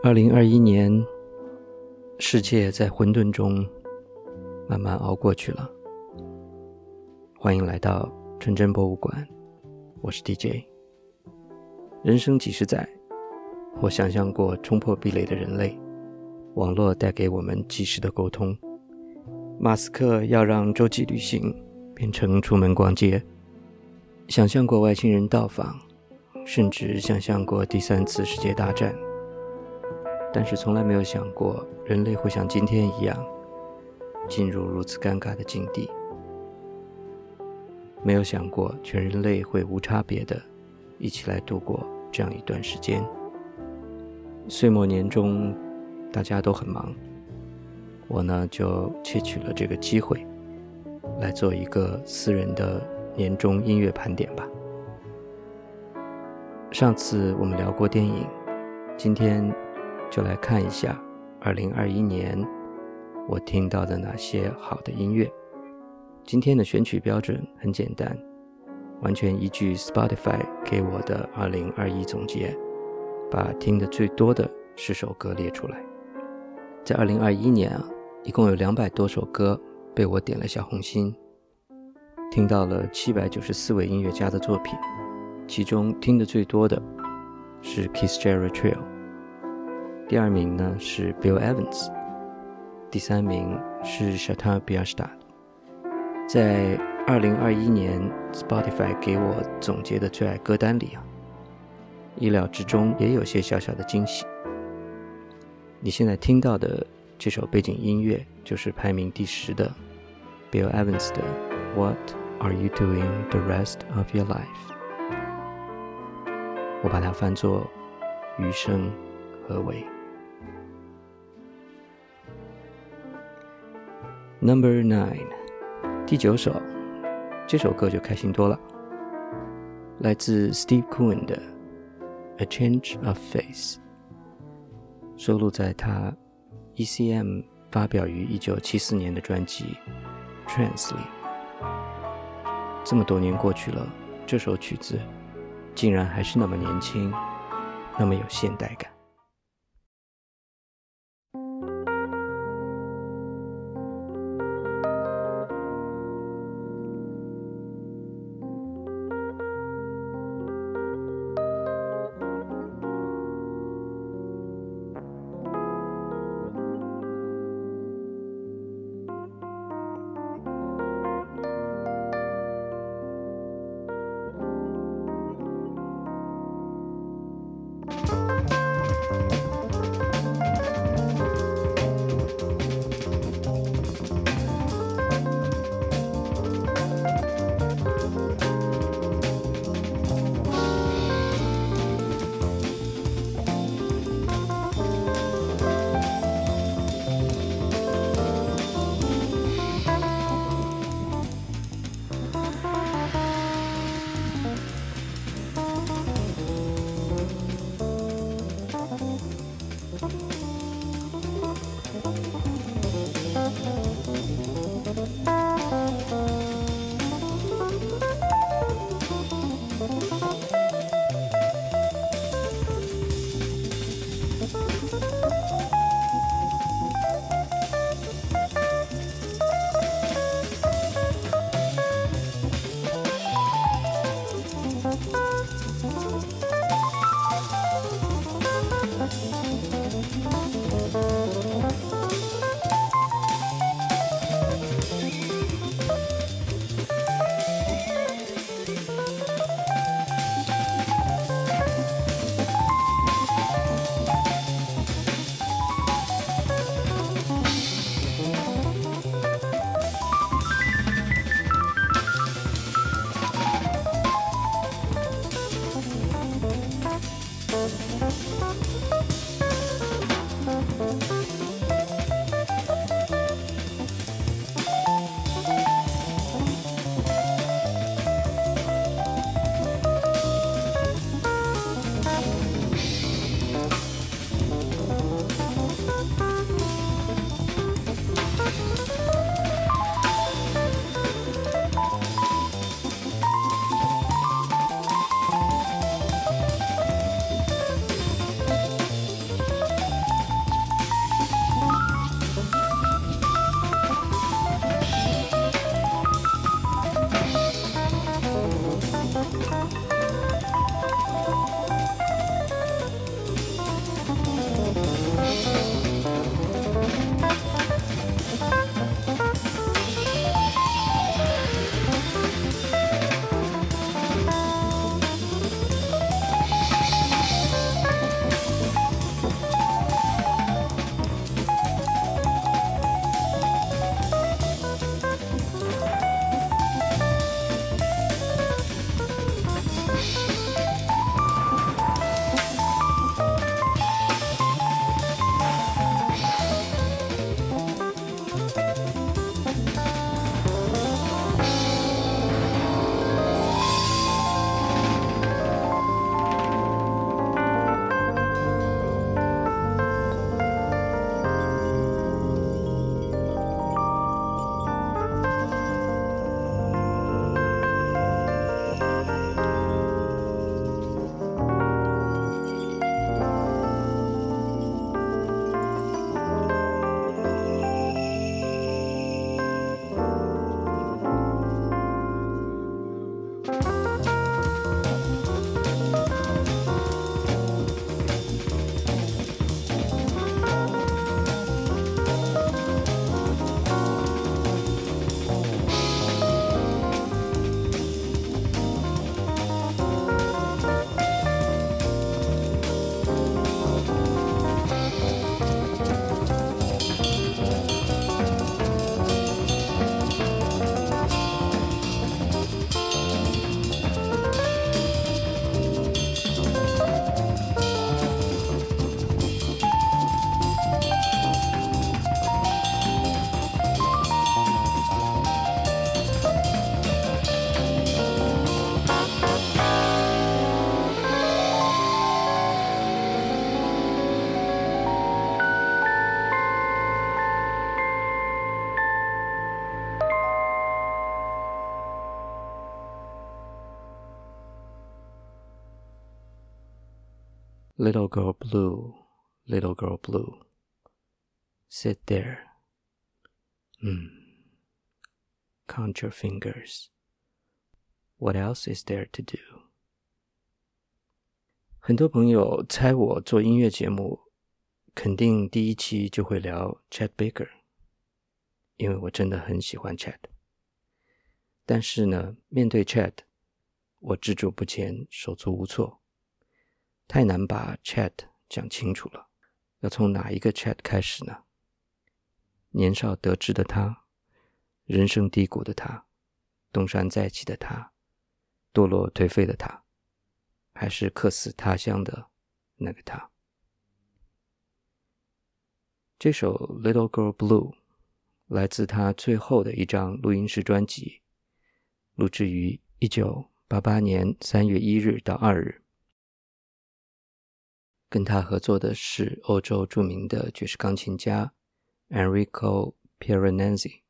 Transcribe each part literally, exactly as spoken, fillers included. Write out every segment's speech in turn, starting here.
二零二一年，世界在混沌中慢慢熬过去了。欢迎来到纯真博物馆，我是 D J。 人生几十载，或想象过冲破壁垒的人类，网络带给我们即时的沟通。马斯克要让洲际旅行变成出门逛街，想象过外星人到访，甚至想象过第三次世界大战，但是从来没有想过人类会像今天一样进入如此尴尬的境地，没有想过全人类会无差别的一起来度过这样一段时间。岁末年终大家都很忙，我呢就窃取了这个机会来做一个私人的年终音乐盘点吧。上次我们聊过电影，今天就来看一下二零二一年我听到的哪些好的音乐。今天的选曲标准很简单，完全依据 Spotify 给我的二零二一总结，把听的最多的十首歌列出来。在二零二一年啊，一共有两百多首歌被我点了小红心，听到了七百九十四位音乐家的作品，其中听的最多的是 Keith Jarrett Trio， 第二名呢是 Bill Evans， 第三名是 Shatta Björstad。 在二零二一年 Spotify 给我总结的最爱歌单里啊，意料之中也有些小小的惊喜。你现在听到的这首背景音乐就是排名第十的 Bill Evans 的 What Are You Doing the Rest of Your Life， 我把它翻作余生何为。 Number nine， 第九首，这首歌就开心多了，来自 Steve Cohen 的 A Change of Face， 收录在他 E C M 发表于一九七四年的专辑 Trance 里。这么多年过去了，这首曲子竟然还是那么年轻，那么有现代感。 Little girl blue, little girl blue, sit there. Hmm. Count your fingers. What else is there to do? 很多朋友猜我做音乐节目，肯定第一期就会聊 Chet Baker， 因为我真的很喜欢 Chet。但是呢，面对 Chet， 我踟蹰不前，手足无措，太难把 Chet 讲清楚了。要从哪一个 Chet 开始呢？年少得志的他，人生低谷的他，东山再起的他，堕落颓废的他，还是客死他乡的那个他。这首 Little Girl Blue 来自他最后的一张录音室专辑，录制于一九八八年三月一日到二日。跟他合作的是欧洲著名的爵士钢琴家 Enrico Pieranenzi。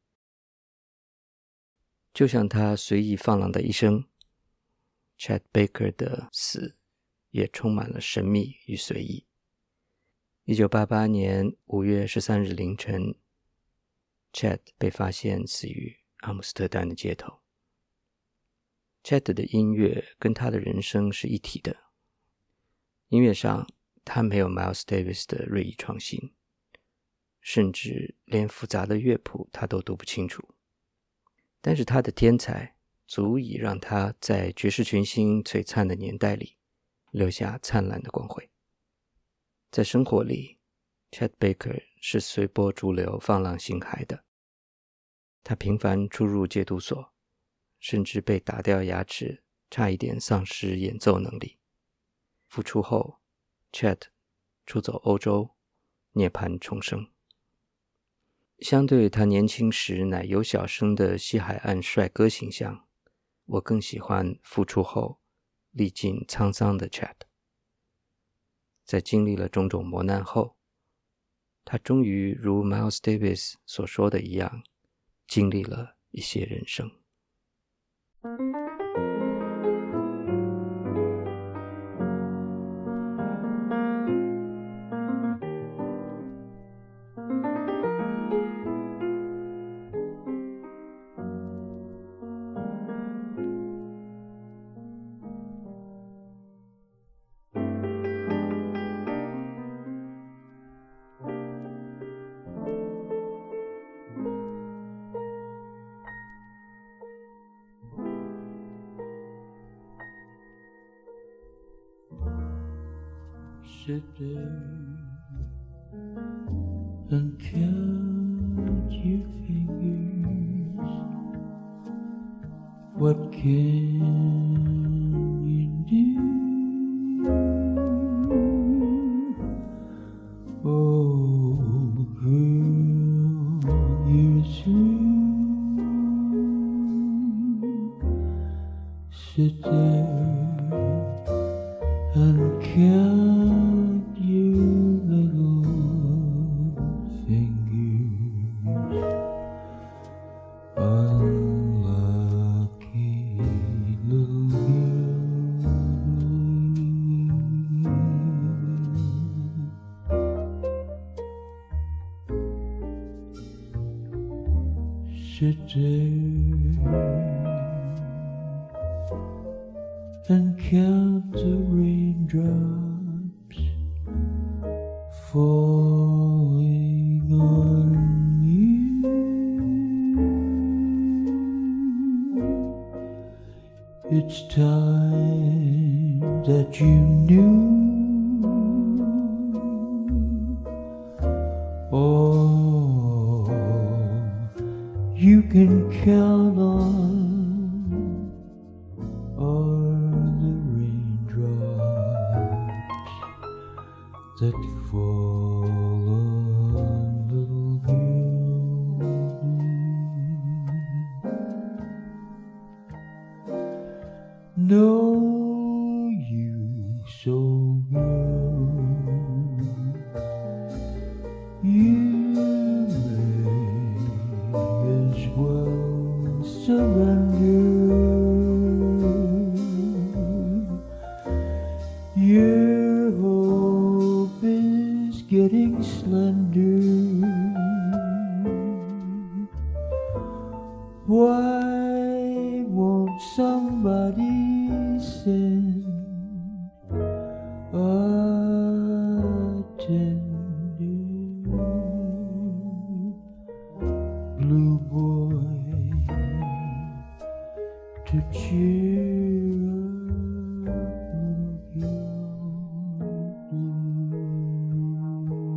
就像他随意放浪的一生， Chet Baker 的死也充满了神秘与随意。一九八八年五月十三日凌晨， Chet 被发现死于阿姆斯特丹的街头。 Chet 的音乐跟他的人生是一体的，音乐上他没有 Miles Davis 的锐意创新，甚至连复杂的乐谱他都读不清楚，但是他的天才足以让他在爵士群星璀璨的年代里留下灿烂的光辉。在生活里， Chet Baker 是随波逐流放浪形骸的，他频繁出入戒毒所，甚至被打掉牙齿，差一点丧失演奏能力。复出后， Chet 出走欧洲，涅槃重生。相对他年轻时奶油小生的西海岸帅哥形象，我更喜欢复出后历尽沧桑的 Chet。 在经历了种种磨难后，他终于如 Miles Davis 所说的一样，经历了一些人生。 Sit there and count your fingers. What can you do? Oh, girl, you're through. Sit there and count your little fingers. Unlucky little girl. Sit there and count the raindrops falling on you. It's time that you knew. Oh, you can count on that fall on little girl. Know you so girl, you may as well surrender. Your whole getting slender. Why won't somebody send a tender blue boy to cheer up little girl blue?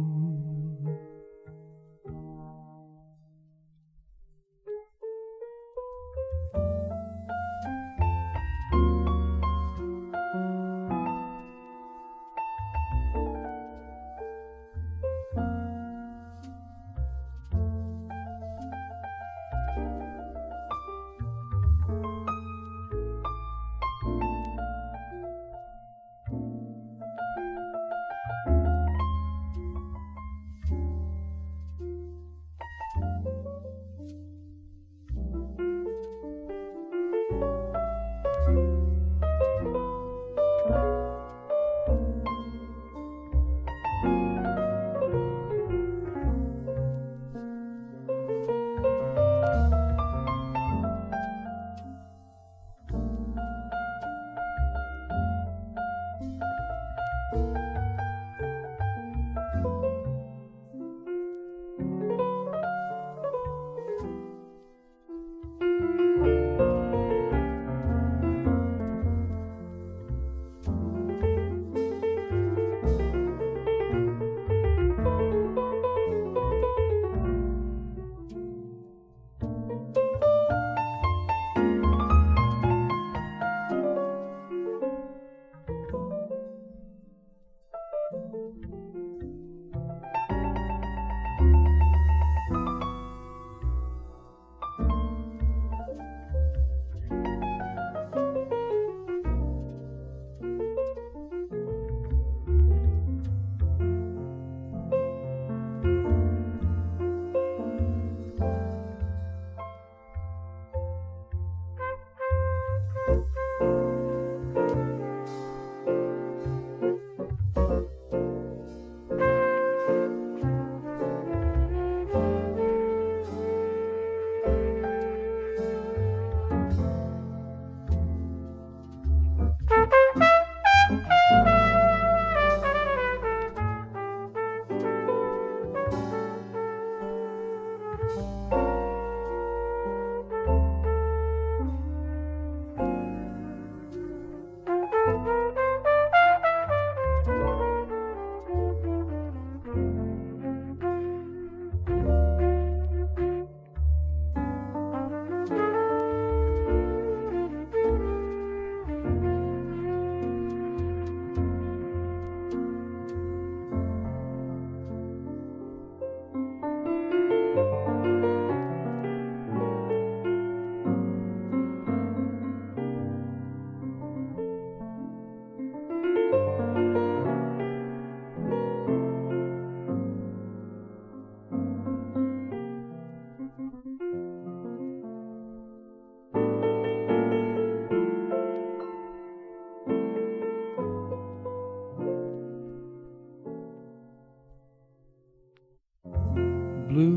Blue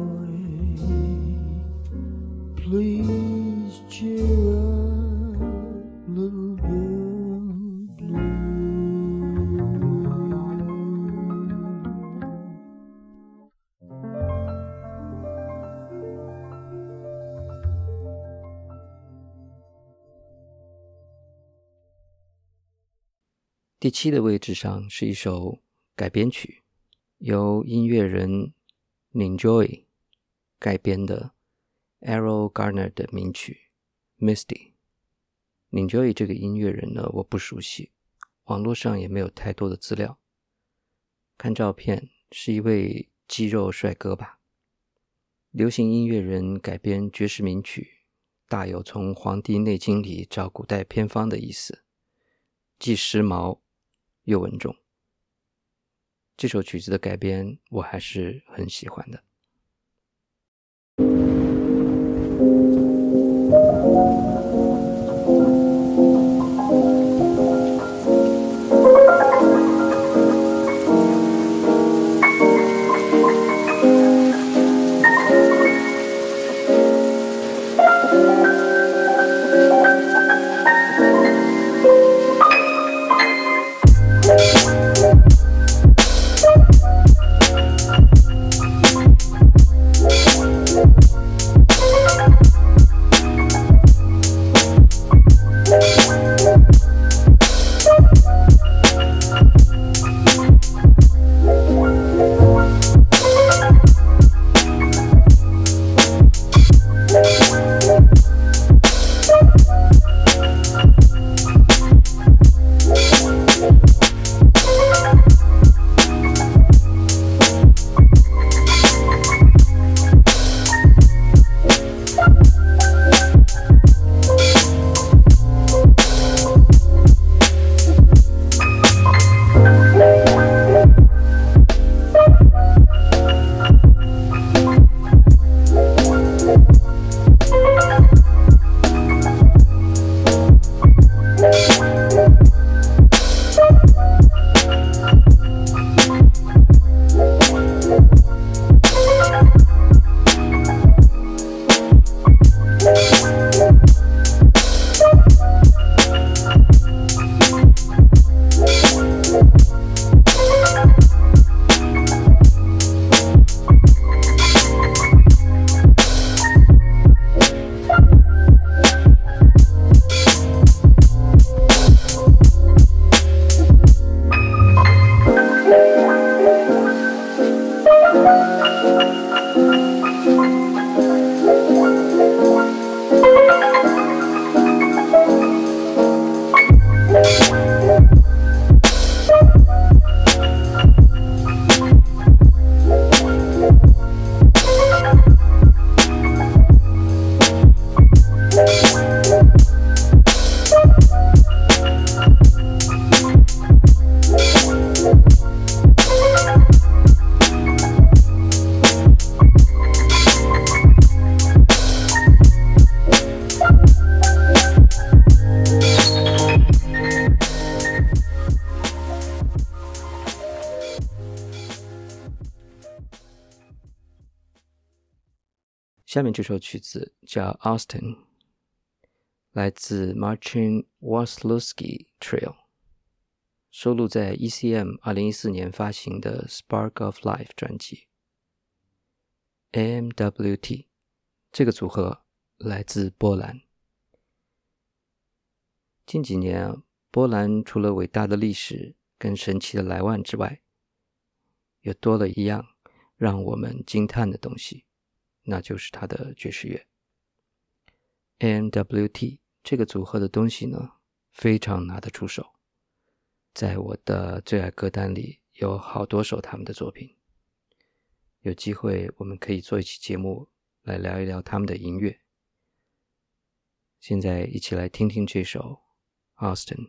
boy, please cheer up, little girl blue. 第七的位置上是一首改编曲，由音乐人 Ninjoy 改编的 Errol Garner 的名曲 Misty。Ninjoy 这个音乐人呢，我不熟悉，网络上也没有太多的资料。看照片是一位肌肉帅哥吧。流行音乐人改编爵士名曲，大有从《黄帝内经》里找古代偏方的意思，既时髦又稳重。这首曲子的改编我还是很喜欢的。 下面这首曲子叫 Austin， 来自 Marcin Waslewski Trio， 收录在 E C M 二零一四年发行的 Spark of Life 专辑。 A M W T 这个组合来自波兰。近几年，波兰除了伟大的历史跟神奇的莱万之外，又多了一样让我们惊叹的东西，那就是它的爵士乐。 A M W T 这个组合的东西呢，非常拿得出手，在我的最爱歌单里有好多首他们的作品。有机会我们可以做一期节目来聊一聊他们的音乐。现在一起来听听这首 Austin。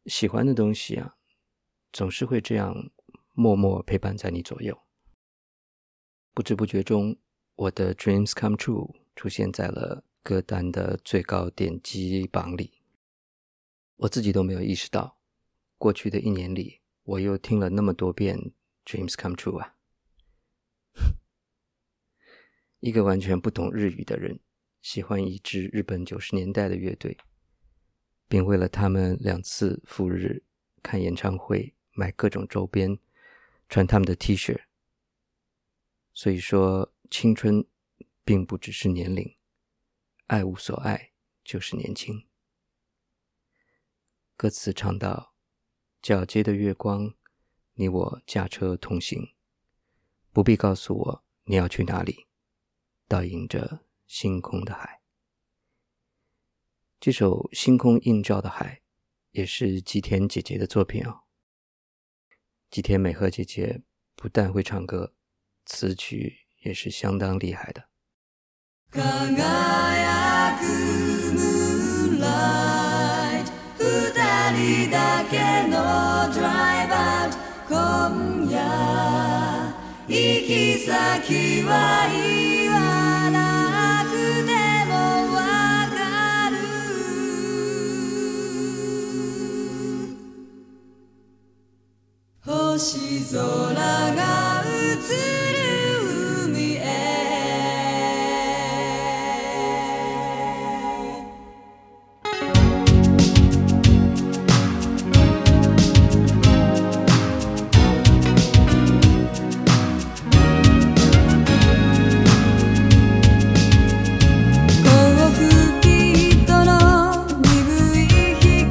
喜欢的东西啊，总是会这样默默陪伴在你左右。不知不觉中，我的 Dreams Come True 出现在了歌单的最高点击榜里。我自己都没有意识到，过去的一年里，我又听了那么多遍 Dreams Come True 啊。一个完全不懂日语的人，喜欢一支日本九十年代的乐队，并为了他们两次赴日看演唱会，买各种周边，穿他们的 T 恤。所以说，青春并不只是年龄，爱无所爱就是年轻。歌词唱到，皎洁的月光，你我驾车同行，不必告诉我你要去哪里，倒映着星空的海。这首星空映照的海也是吉田姐姐的作品哦。吉田美和姐姐不但会唱歌，词曲也是相当厉害的。 輝くムーンライト、二人だけのドライブアウト、今夜行き先は言わなくてもわかる、星空が映る海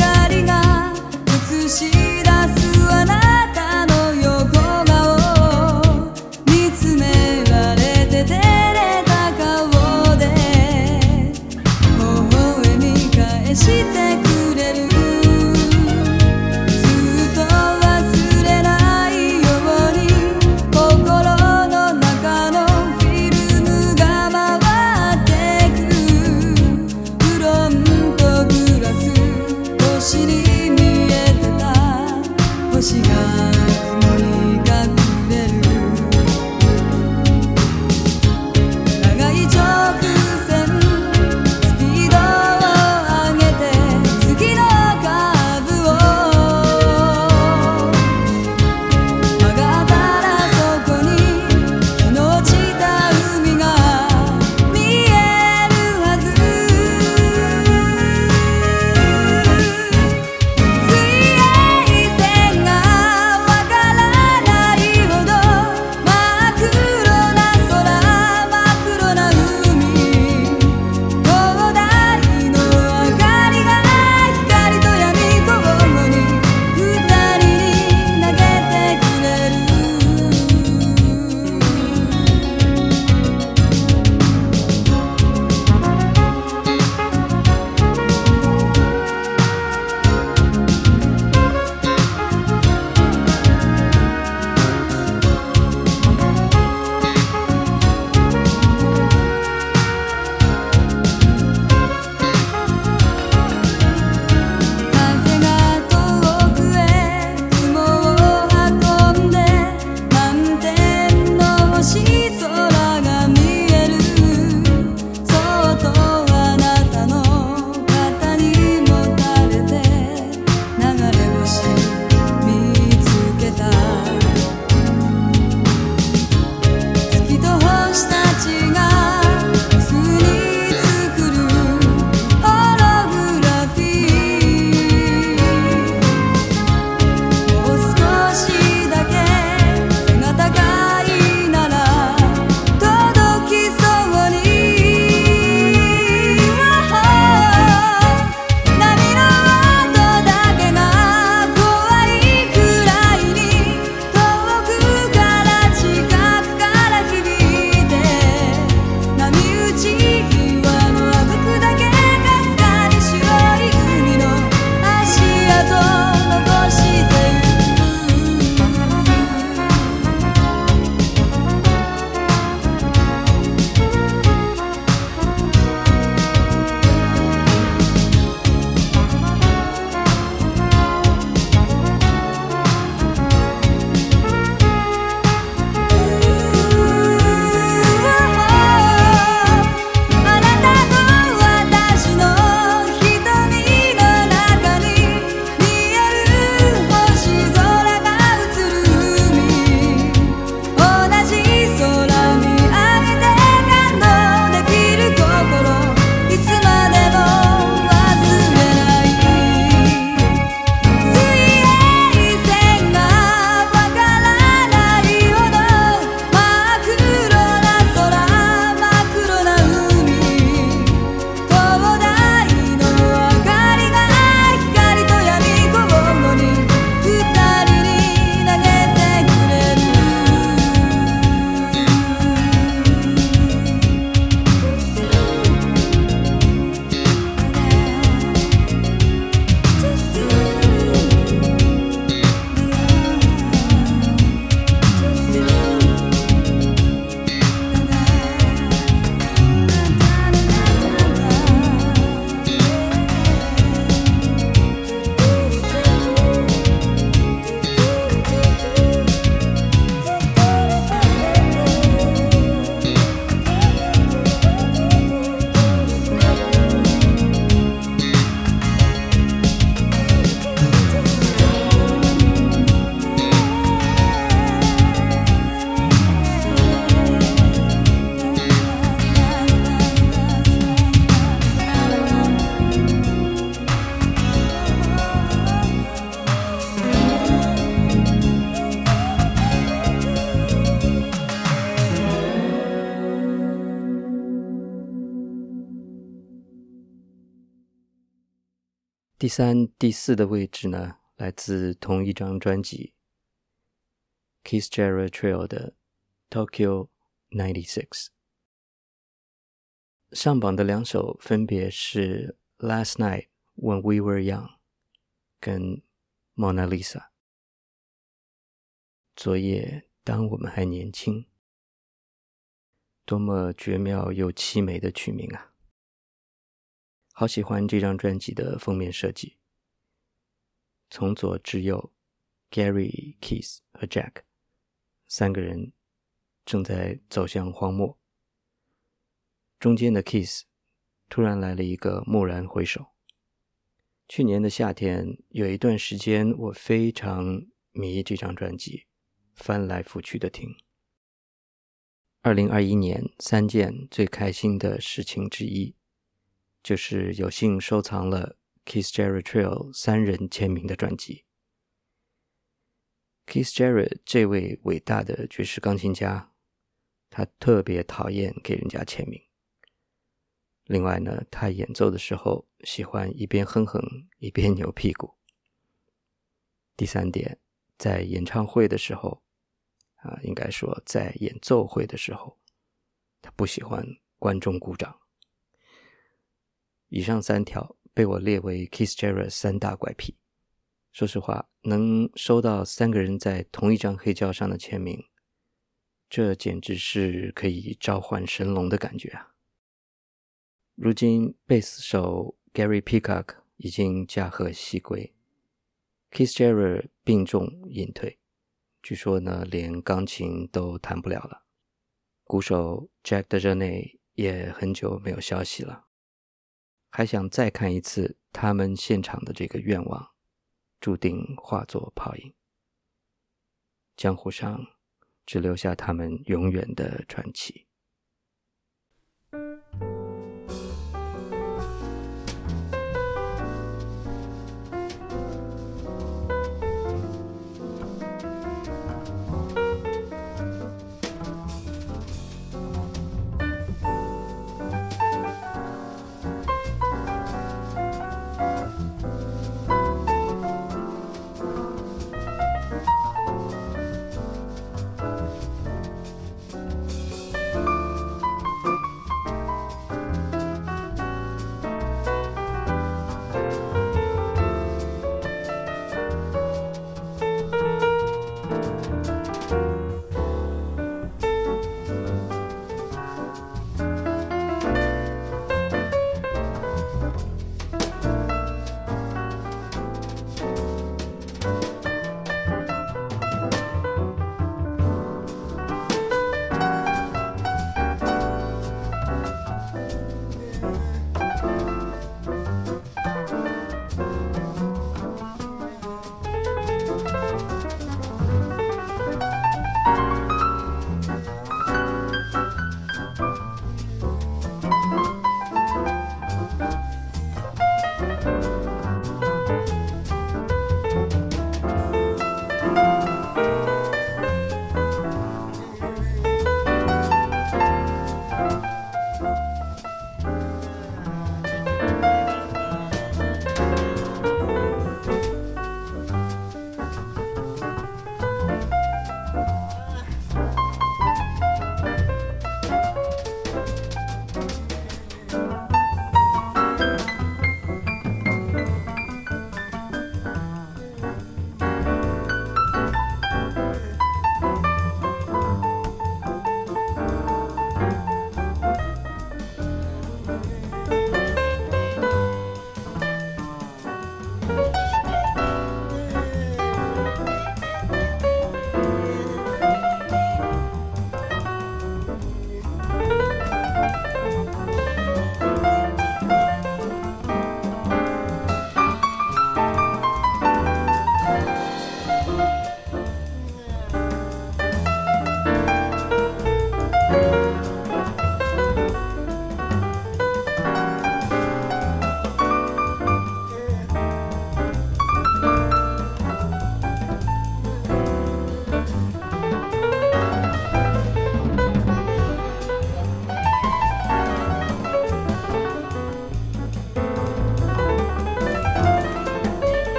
へ。「 第三、第四的位置呢，来自同一张专辑 Keith Jarrett Trio 的 Tokyo 九十六。上榜的两首分别是 Last Night When We Were Young 跟 Mona Lisa。 昨夜当我们还年轻，多么绝妙又凄美的曲名啊！好喜欢这张专辑的封面设计，从左至右 Gary、Keith 和 Jack 三个人正在走向荒漠，中间的 Keith 突然来了一个蓦然回首。去年的夏天有一段时间我非常迷这张专辑，翻来覆去的听。二零二一年三件最开心的事情之一，就是有幸收藏了 Keith Jarrett Trio 三人签名的专辑。Keith Jarrett 这位伟大的爵士钢琴家，他特别讨厌给人家签名。另外呢，他演奏的时候喜欢一边哼哼一边扭屁股。第三点，在演唱会的时候啊，应该说在演奏会的时候，他不喜欢观众鼓掌。以上三条被我列为 Keith Jarrett 三大怪癖。说实话，能收到三个人在同一张黑胶上的签名，这简直是可以召唤神龙的感觉啊！如今贝斯手 Gary Peacock 已经驾鹤西归， Keith Jarrett 病重隐退，据说呢连钢琴都弹不了了。鼓手 Jack DeJohnette 也很久没有消息了，还想再看一次他们现场的这个愿望，注定化作泡影。江湖上只留下他们永远的传奇。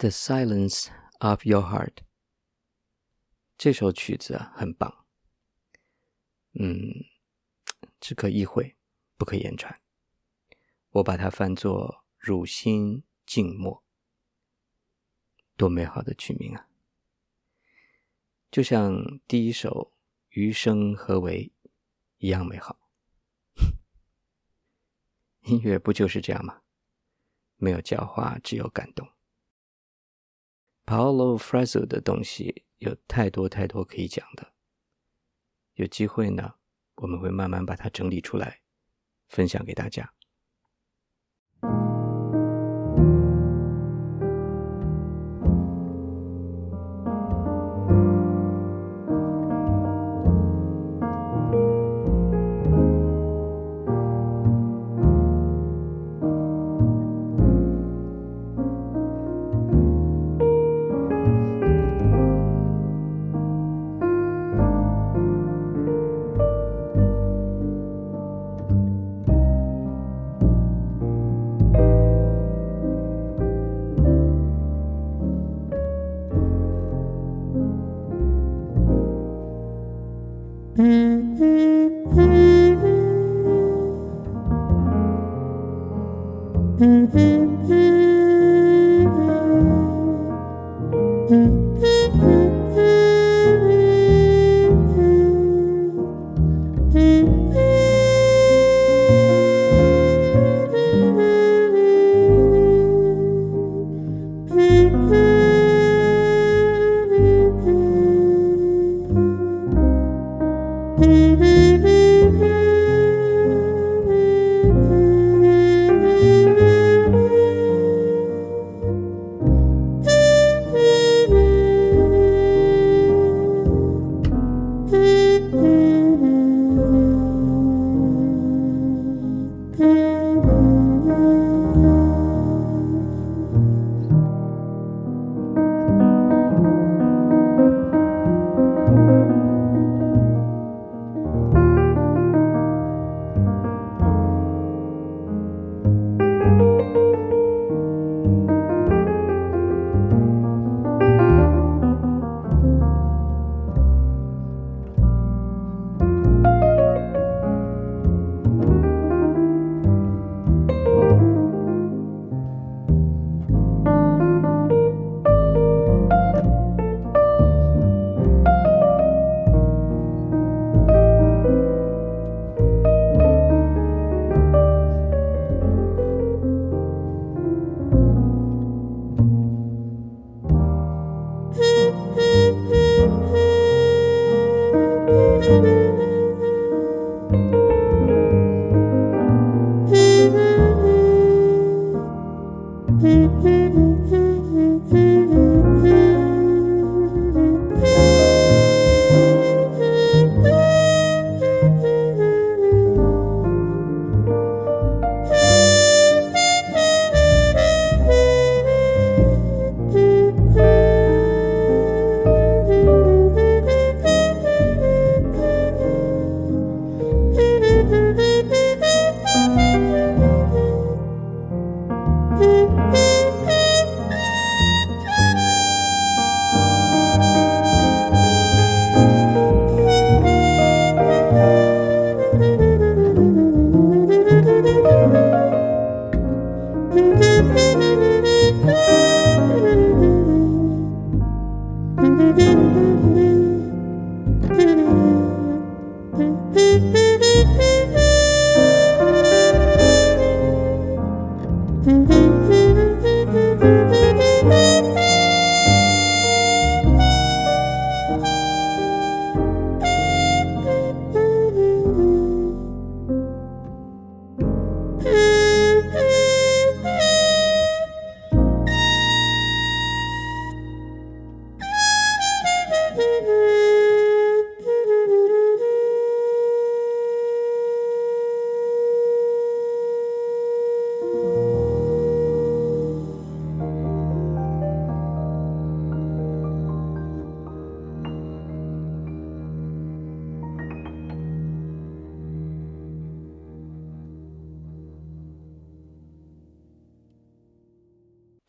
The Silence of Your Heart。 这首曲子啊很棒，嗯，只可意会，不可言传。我把它翻作汝心静默，多美好的曲名啊！就像第一首余生何为一样美好。音乐不就是这样吗？没有教化，只有感动。Paulo Freire 的东西有太多太多可以讲的，有机会呢，我们会慢慢把它整理出来，分享给大家。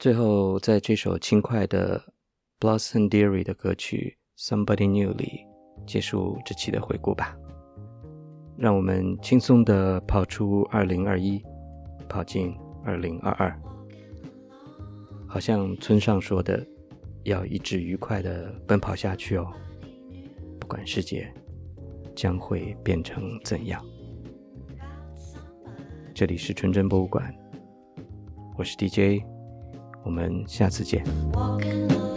最后在这首轻快的 Blossom Dearie 的歌曲 Somebody New 里结束这期的回顾吧。让我们轻松地跑出二零二一，跑进二零二二。好像村上说的，要一直愉快地奔跑下去哦，不管世界将会变成怎样。这里是纯真博物馆，我是 D J， 我们下次见。